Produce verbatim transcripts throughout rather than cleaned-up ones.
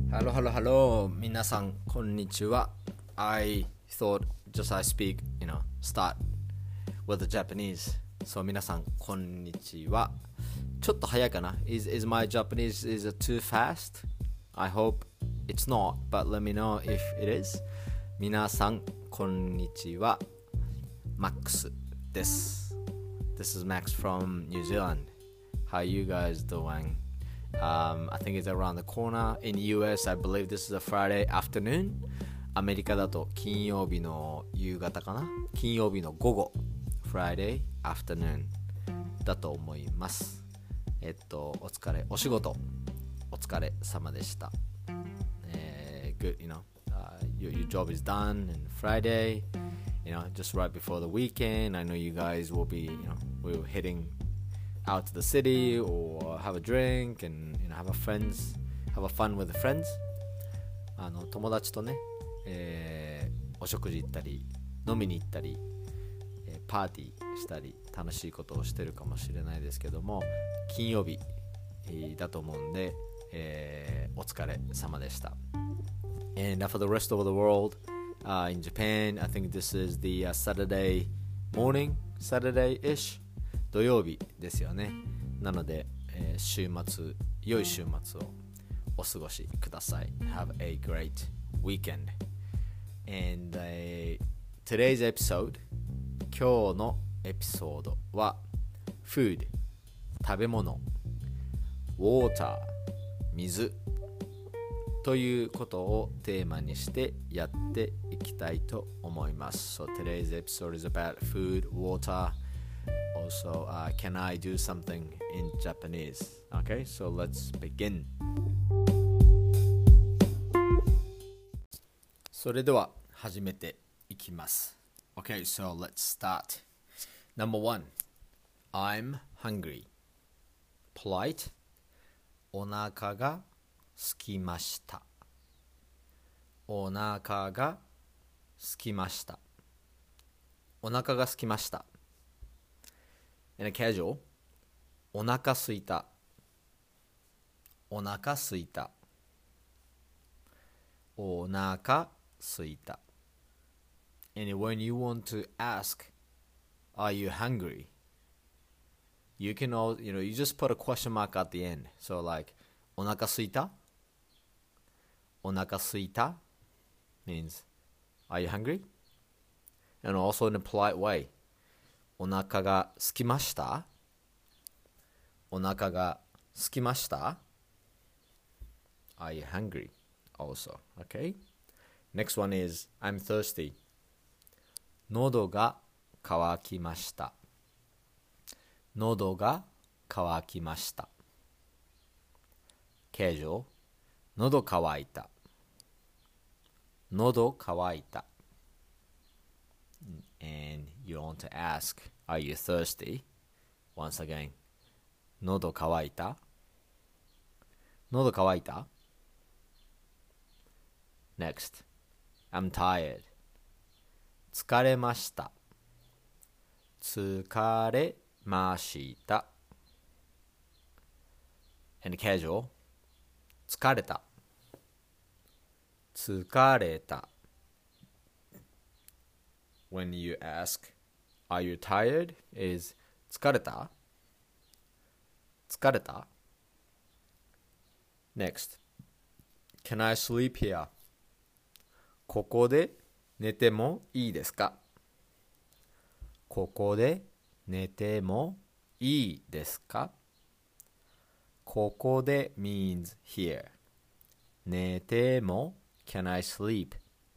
Hello, hello, hello. 皆さん、こんにちは。I thought just I speak, you know, start with the Japanese. So 皆さん、こんにちは。ちょっと早いかな is, is my Japanese is it too fast? I hope it's not, but let me know if it is. 皆さん、こんにちは。Max です。This is Max from New Zealand. How you guys doing?Um, I think it's around the corner. In U S, I believe this is a Friday afternoon. アメリカだと金曜日の夕方かな金曜日の午後 Friday afternoon だと思います。えっと、お疲れ、お仕事お疲れ様でした。えー、good, you know, uh, your, your job is done and Friday, you know, just right before the weekend. I know you guys will be, you know, we're hitting out to the city or have a drink and you know have a friends have a fun with the friends あの友達とね、えー、お食事行ったり飲みに行ったり、えー、パーティーしたり楽しいことをしてるかもしれないですけども金曜日、えー、だと思うんで、えー、お疲れ様でした And for the rest of the world、uh, in Japan I think this is the、uh, Saturday morning Saturday-ish土曜日ですよね。なので、えー、週末、良い週末をお過ごしください。Have a great weekend. And、uh, today's episode, 今日のエピソードは Food, 食べ物 Water, 水ということをテーマにしてやっていきたいと思います。So today's episode is about food, water,Also, uh, can I do something in Japanese? Okay, so let's begin. それでは始めていきます。Okay, so let's start. Number one, I'm hungry. Polite. お腹がすきました。お腹がすきました。お腹がすきました。In a casual, お腹すいた。お腹すいた。お腹すいた。And when you want to ask, are you hungry? You can all, you know, you just put a question mark at the end. So like, お腹すいた？お腹すいた means, are you hungry? And also in a polite way.お腹がすきましたお腹がすきました Are you hungry? Also, okay? Next one is I'm thirsty 喉が渇きました喉が渇きました Casual 喉乾いた喉乾いたAnd you want to ask, are you thirsty? Once again, 喉乾いた喉乾いた Next, I'm tired. 疲れました。疲れました。And casual, 疲れた。疲れた。When you ask, are you tired? is 疲れた疲れた Next, can I sleep here? ここで寝てもいいですかここで寝てもいいですかここで means here. 寝ても can I sleep?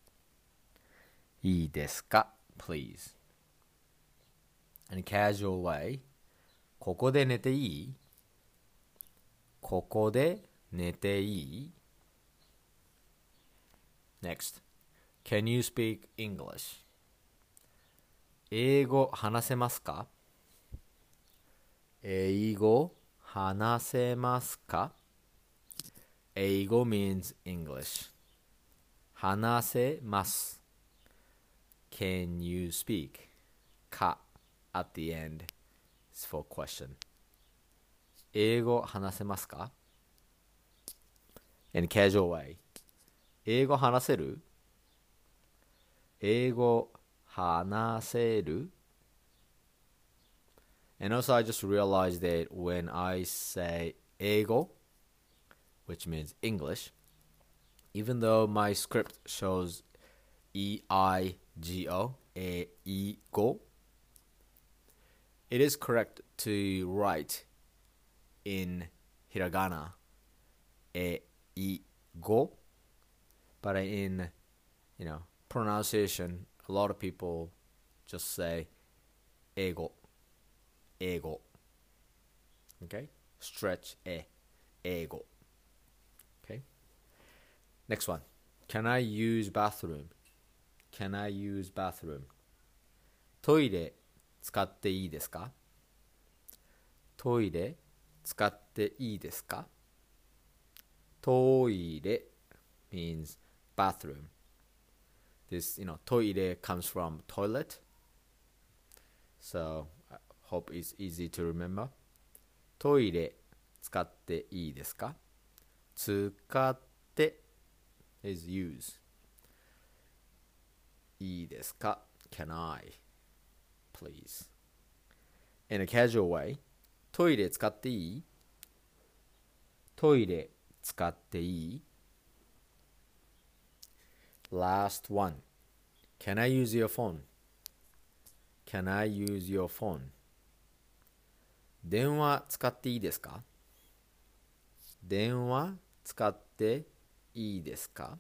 いいですかPlease. In a casual way, ここで寝ていいここで寝ていい Next, can you speak English? 英語話せますか英語話せますか英語 means English. 話せますCan you speak? か at the end is for question. 英語話せますか In a casual way, 英語話せる？英語話せる？ And also I just realized that when I say 英語 which means English, even though my script shows E I G O, えいご, it is correct to write in hiragana, えいご, but in, you know, pronunciation, a lot of people just say 英語, 英語. Okay? Stretch え, 英語. Okay? Next one. Can I use bathroom? Can I use bathroom? トイレ使っていいですか？トイレ使っていいですか？トイレ means bathroom. This, you know, トイレ comes from toilet. So, I hope it's easy to remember. トイレ使っていいですか？使って is use. いいですか？ Can I? Please. In a casual way, トイレ使っていい？トイレ使っていい？ Last one. Can I use your phone? Can I use your phone? 電話使っていいですか？電話使っていいですか？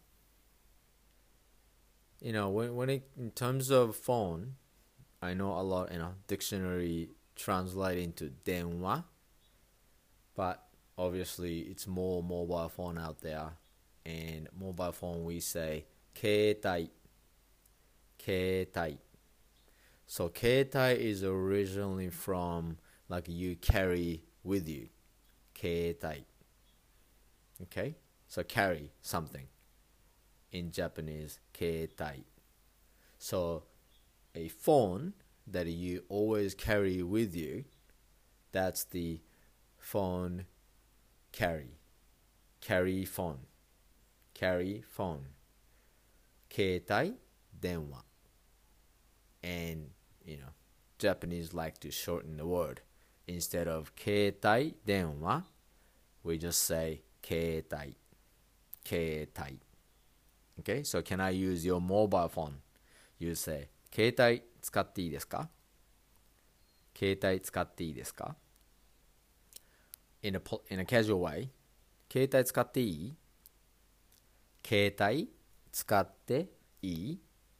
You know, when, when it, in terms of phone, I know a lot, you know, dictionary translate into 電話, but obviously it's more mobile phone out there, and mobile phone we say 携帯, 携帯. So 携帯 is originally from like you carry with you, 携帯. Okay, so carry something. In Japanese, 携帯. So a phone that you always carry with you, that's the phone carry. Carry phone. Carry phone. 携帯電話. And, you know, Japanese like to shorten the word. Instead of 携帯電話, we just say 携帯. 携帯. Okay, so can I use your mobile phone? You say 携帯使っていいですか？携帯使っていいですか？ in a, in a casual way, 携帯使っていい？携帯使っていい？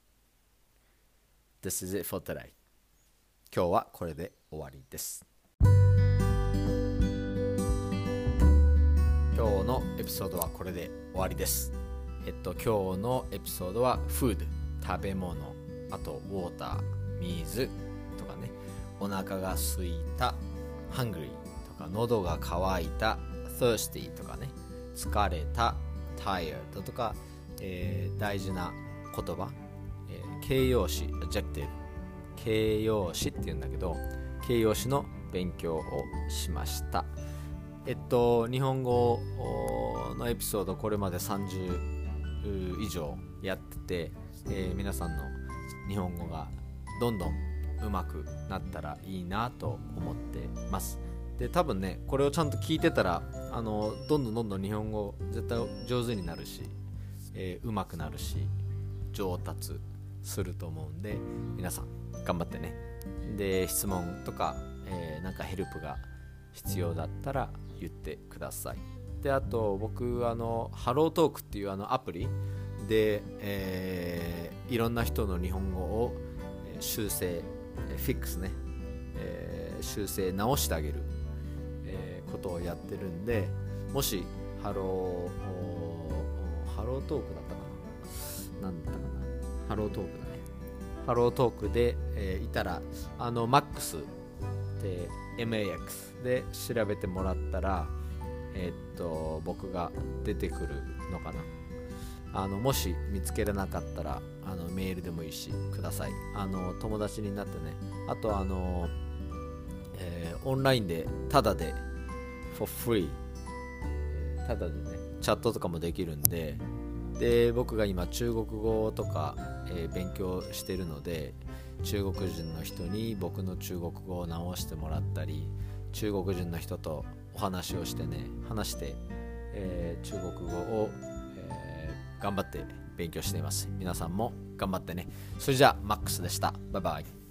This is it for today. 今日はこれで終わりです。今日のエピソードはこれで終わりです。えっと今日のエピソードは food 食べ物、あと water 水とかね、お腹が空いた hungry とか、喉が渇いた thirsty とかね、疲れた tired とか、えー、大事な言葉、えー、形容詞 adjective 形容詞って言うんだけど、形容詞の勉強をしました。えっと日本語のエピソードこれまでさんじゅう以上やってて、えー、皆さんの日本語がどんどん上手くなったらいいなと思ってます。で、多分ねこれをちゃんと聞いてたらあのどんどんどんどん日本語絶対上手になるし、えー、上手くなるし上達すると思うんで、皆さん頑張ってね。で、質問とか、えー、なんかヘルプが必要だったら言ってください。で、あと僕あのハロートークっていうあのアプリで、えー、いろんな人の日本語を修正、フィックスね、えー、修正直してあげる、えー、ことをやってるんで、もしハローハロートークだったかな、なんだったかな、ハロートークだね。ハロートークで、えー、いたらあの マックス で エムエーエックス で調べてもらったら、えー、っと僕が出てくるのかな。あのもし見つけれなかったらあのメールでもいいしください。あの友達になってね。あとあの、えー、オンラインでタダで for free タダでねチャットとかもできるんで、 で僕が今中国語とか、えー勉強してるので、中国人の人に僕の中国語を直してもらったり、中国人の人とお話をしてね話して、えー中国語を、えー頑張って勉強しています。皆さんも頑張ってね。それじゃあマックスでした。バイバイ。